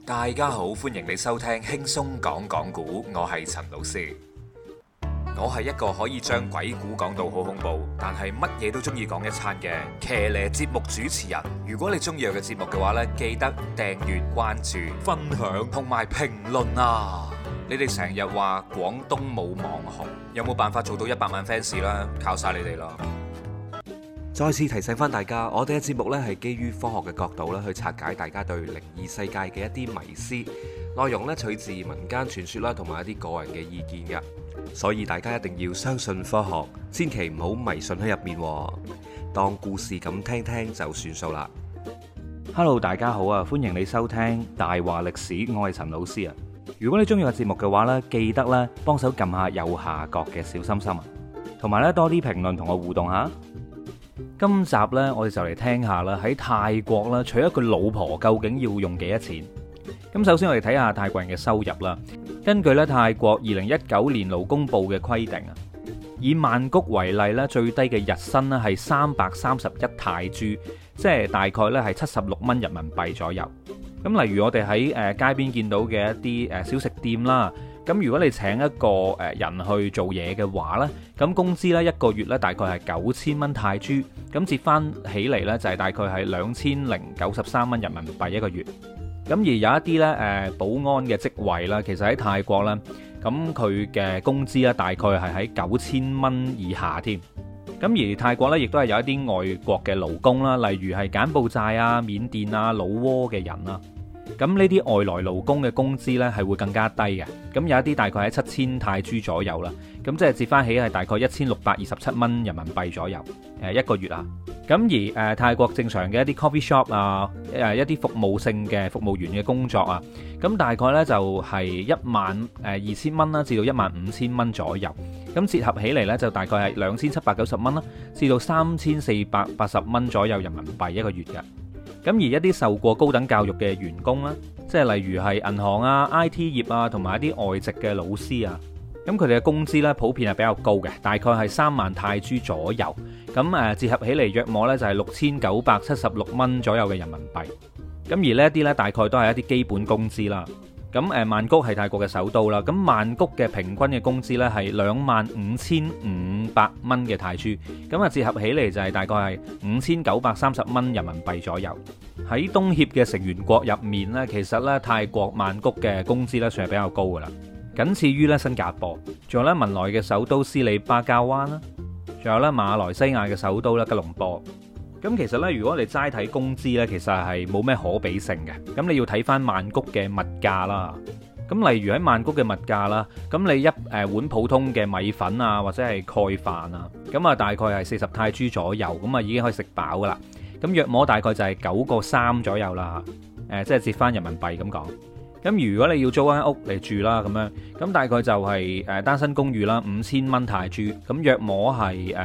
大家好，歡迎你收聽輕鬆講講古，我係陳老師。我係一個可以將鬼故講到好恐怖，但係乜嘢都中意講一餐嘅騎呢節目主持人。如果你中意我嘅節目嘅話呢，記得訂閱、關注、分享同埋評論啊！你哋成日話廣東冇網紅，有冇辦法做到100萬 fans 啦？靠晒你哋啦！再次提醒翻大家，我哋嘅節目呢係基於科學嘅角度咧去拆解大家對靈異世界嘅一啲迷思，內容呢取自民間傳說啦，同埋一啲個人嘅意見嘅，所以大家一定要相信科學，千祈唔好迷信喺入面，當故事咁聽聽就算數啦。 Hello， 大家好啊，歡迎你收聽大話歷史，我係陳老師啊。如果你中意個節目嘅話呢，記得咧幫手撳下右下角嘅小心心啊，同埋咧多啲評論同我互動下。今集呢，我哋就嚟聽下啦，喺泰國啦，娶一個老婆究竟要用幾多錢？咁首先我哋睇下泰國人嘅收入啦。根據咧泰國2019年勞工部嘅規定啊，以曼谷為例咧，最低嘅日薪咧係331泰銖，即係大概咧係76蚊人民幣左右。咁例如我哋喺街邊見到嘅一啲小食店啦。咁如果你請一個人去做嘢嘅話呢，咁工資呢一個月呢大概係9000蚊泰銖，咁折翻起嚟呢就係大概係2093蚊人民幣一個月。咁而有一啲呢保安嘅職位啦，其實喺泰國呢，咁佢嘅工資呢大概係喺9000蚊以下添。咁而泰國呢，亦都係有一啲外國嘅勞工啦，例如係柬埔寨啊、緬甸啊、老撾嘅人啦。咁呢啲外來勞工嘅工資呢係會更加低嘅，咁有一啲大概喺7000泰銖左右啦，咁即係折翻起係大概1627蚊人民幣左右，一個月啊。咁而泰國正常嘅一啲 coffee shop 啊，一啲服務性嘅服務員嘅工作啊，咁大概呢就係12000蚊啦，至到15000蚊左右，咁折合起嚟呢，就大概係2790蚊啦，至到3480蚊左右人民幣一個月嘅。咁而一啲受過高等教育嘅員工啦，即係例如係銀行啊、IT 業啊，同埋一啲外籍嘅老師啊，咁佢哋嘅工資呢普遍係比較高嘅，大概係3萬泰銖左右。咁折合起嚟約莫呢就係6976蚊左右嘅人民幣。咁而呢一啲呢，大概都係一啲基本工資啦。咁曼谷係泰國嘅首都啦，咁曼谷嘅平均嘅工資呢係25500蚊嘅泰銖，咁折合起嚟就係大概係5930蚊人民幣左右。喺東協嘅成員國入面呢，其實呢泰國曼谷嘅工資呢算係比較高噶啦，僅次於呢新加坡，仲有呢文萊嘅首都斯里巴加灣啦，仲有呢馬來西亞嘅首都呢吉隆坡。咁其實呢，如果你齋睇工資呢，其實係冇咩可比性嘅。咁你要睇翻曼谷嘅物價啦。咁例如喺曼谷嘅物價啦，咁你一碗普通嘅米粉啊，或者係蓋飯啊，咁啊大概係40泰銖左右，咁啊已經可以食飽噶啦。咁約莫大概就係9個3左右啦。即係折翻人民幣咁講。咁如果你要租間屋嚟住啦，咁樣，咁大概就係單身公寓啦，5000蚊泰銖，咁約莫係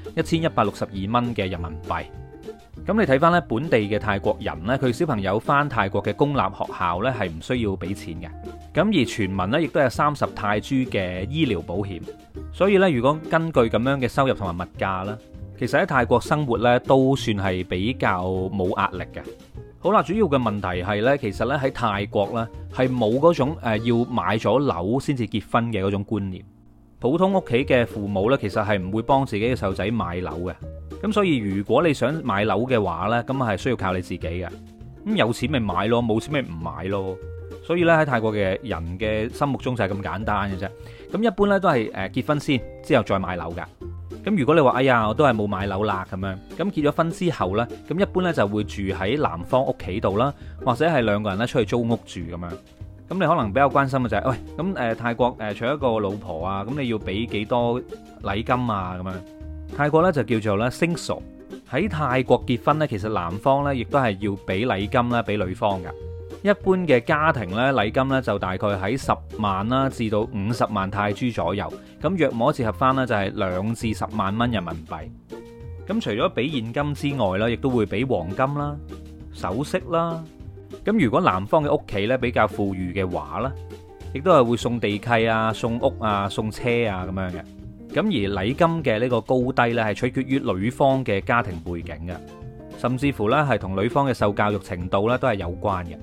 1162蚊嘅人民幣。咁你睇翻咧本地嘅泰國人呢，佢小朋友翻泰國嘅公立學校呢係唔需要俾錢嘅。咁而全民呢亦都有30泰銖嘅醫療保險。所以呢，如果根據咁樣嘅收入同埋物價呢，其實喺泰國生活呢都算係比較冇壓力嘅。好啦，主要嘅問題係呢，其實呢喺泰國呢係冇嗰種要買咗樓先至結婚嘅嗰種觀念。普通屋企嘅父母呢，其實係唔會幫自己嘅細路仔買樓嘅。咁所以如果你想買樓嘅話呢，咁係需要靠你自己嘅。咁有錢咪買咯，冇錢咪唔買咯。所以咧喺泰國嘅人嘅心目中就係咁簡單嘅啫。咁一般呢都係結婚先，之後再買樓噶。咁如果你話哎呀我都係冇買樓啦咁樣，咁結咗婚之後呢，咁一般呢就會住喺男方屋企度啦，或者係兩個人咧出去租屋住咁樣。咁你可能比較關心嘅就係，喂，咁泰國娶一個老婆啊，咁你要俾幾多禮金啊咁樣？泰國咧就叫做咧升熟。喺泰國結婚咧，其實男方咧亦都係要俾禮金啦，俾女方噶。一般嘅家庭咧禮金咧就大概喺10萬啦至到50萬泰銖左右，咁約摸折合翻咧就係2至10萬蚊人民幣。咁除咗俾現金之外咧，亦都會俾黃金啦、首飾啦。咁如果男方嘅屋企咧比較富裕嘅話咧，亦都係會送地契啊、送屋啊、送車啊咁樣嘅。咁而禮金嘅呢個高低呢，係取決於女方嘅家庭背景嘅，甚至乎呢係同女方嘅受教育程度呢都係有關嘅。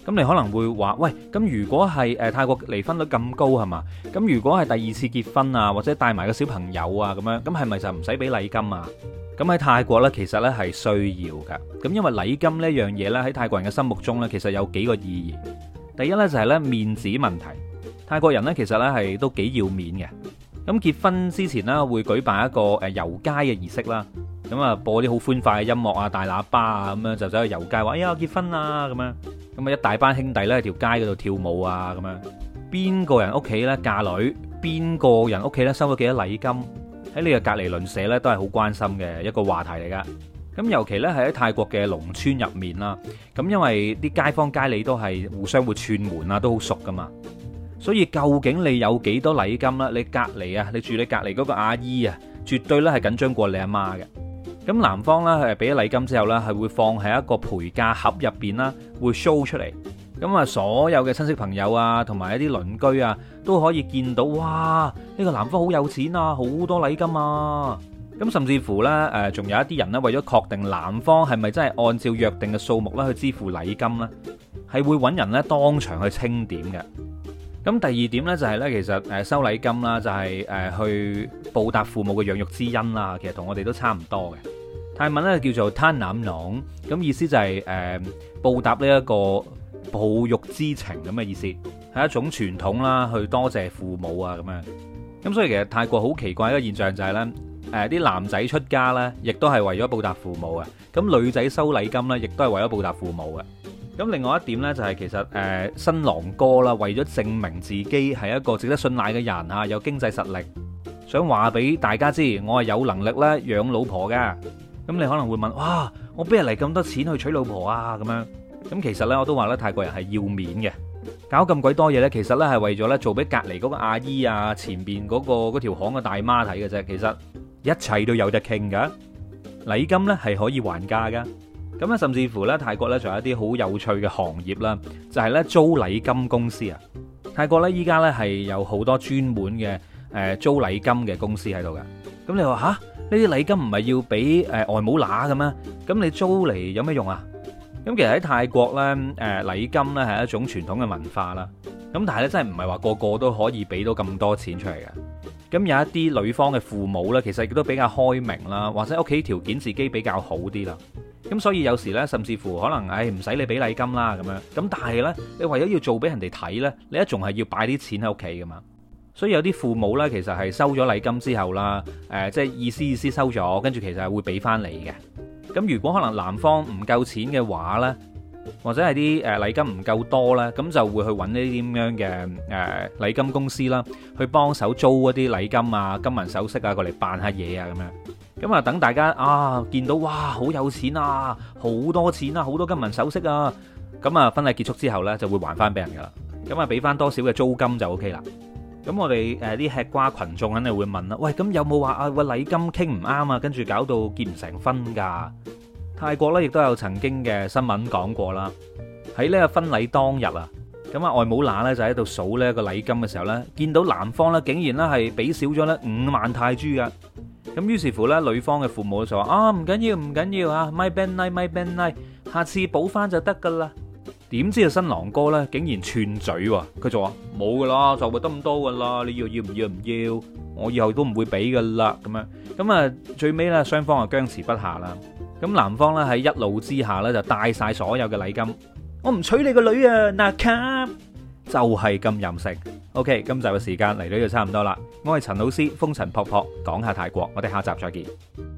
咁你可能會話，喂，咁如果係泰國離婚率咁高係嘛？咁如果係第二次結婚啊，或者帶埋個小朋友啊咁樣，咁係咪就唔使俾禮金啊？咁喺泰國呢，其實呢係需要噶。咁因為禮金呢樣嘢呢，喺泰國人嘅心目中呢，其實有幾個意義。第一呢，就係呢面子問題，泰國人呢，其實呢係都幾要面嘅。咁結婚之前呢，會舉辦一個遊街嘅儀式啦。咁啊，播啲好歡快嘅音樂啊，大喇叭啊，咁樣就走去遊街，話哎呀結婚啦咁樣。咁啊，一大班兄弟咧喺條街嗰度跳舞啊，咁樣。邊個人屋企咧嫁女，邊個人屋企咧收咗幾多禮金，喺你嘅隔離鄰舍咧都係好關心嘅一個話題嚟噶。咁尤其咧係喺泰國嘅農村入面啦，咁因為啲街坊街里都係互相會串門啊，都好熟噶嘛。所以究竟你有幾多禮金啦？你隔離啊，你住你隔離嗰個阿姨啊，絕對咧係緊張過你阿媽嘅。咁男方咧係俾咗禮金之後咧，係會放喺一個陪嫁盒入邊啦，會 show 出嚟。咁啊，所有嘅親戚朋友啊，同埋一啲鄰居啊，都可以見到，哇！呢個男方好有錢啊，好多禮金啊。咁甚至乎呢，仲有一啲人呢，為咗確定男方係咪真係按照約定嘅數目咧去支付禮金呢，係會揾人呢當場去清點嘅。咁第二點呢，就係呢，其實收禮金啦，就係去報答父母嘅養育之恩啦。其實同我哋都差唔多嘅。泰文呢叫做 Tan Nam Nong， 咁意思就係報答呢一個哺育之情咁嘅意思，係一種傳統啦，去多謝父母啊咁樣。咁所以其實泰國好奇怪一個現象就係呢，啲男仔出家呢，亦都係為咗報答父母嘅。咁女仔收禮金呢，亦都係為咗報答父母嘅。咁另外一點呢，就係其實新郎哥啦，為咗證明自己係一個值得信賴嘅人啊，有經濟實力，想話俾大家知，我係有能力咧養老婆噶。咁你可能會問，哇，我邊日嚟咁多錢去娶老婆啊？咁樣，咁其實呢，我都話咧，泰國人係要面嘅，搞咁鬼多嘢呢，其實呢係為咗呢做俾隔離嗰個阿姨啊，前邊嗰條巷嘅大媽睇嘅啫。其實一切都有得傾噶，禮金呢係可以還價噶。咁咧，甚至乎呢，泰國呢仲有一啲好有趣嘅行業啦，就係呢租禮金公司啊。泰國呢，依家呢係有好多專門嘅租禮金嘅公司喺度噶。咁你話吓？呢啲禮金唔係要俾外母乸嘅咩？咁你租嚟有咩用啊？咁其實喺泰國呢，禮金呢係一種傳統嘅文化啦。咁但係咧，真係唔係話個個都可以俾到咁多錢出嚟嘅。咁有一啲女方嘅父母呢，其實亦都比較開明啦，或者屋企條件自己比較好啲啦。咁所以有時呢，甚至乎可能唔使你俾禮金啦咁樣。咁但係呢，你為咗要做俾人哋睇呢，你一仲係要擺啲錢喺屋企噶嘛。所以有啲父母呢，其實係收咗禮金之後啦，即係意思收咗，跟住其實係會俾翻你嘅。咁如果可能男方唔夠錢嘅話呢，或者係啲禮金唔夠多呢，咁就會去揾呢啲咁樣嘅禮金公司啦，去幫手租一啲禮金啊、金銀首飾啊過嚟扮下嘢啊咁樣。咁啊等大家啊見到哇好有錢啊，好多錢啊，好多金銀首飾啊，咁啊婚禮結束之後呢，就會還翻俾人噶啦。咁啊俾翻多少嘅租金就 OK 啦。咁我哋啲吃瓜群眾肯定會問啦，喂，咁有冇話啊個禮金傾唔啱啊，跟住搞到結唔成婚㗎？泰國咧亦都有曾經嘅新聞講過啦，喺呢個婚禮當日啊，咁啊外母乸咧就喺度數呢個禮金嘅時候咧，見到男方咧竟然咧係俾少咗咧5萬泰銖㗎。咁於是乎咧女方嘅父母就話啊唔緊要啊，my bad night，下次補翻就得㗎啦。點知啊新郎哥咧竟然串嘴喎，佢就話冇噶啦，就會得咁多噶啦，你要唔要？我以後都唔會俾噶啦咁樣。咁啊最尾咧雙方啊僵持不下啦。咁男方咧喺一怒之下咧就帶晒所有嘅禮金，我唔娶你個女啊，嗱卡就係咁任性。OK， 今集嘅時間嚟到就差唔多啦。我係陳老師，風塵僕僕講下泰國，我哋下集再見。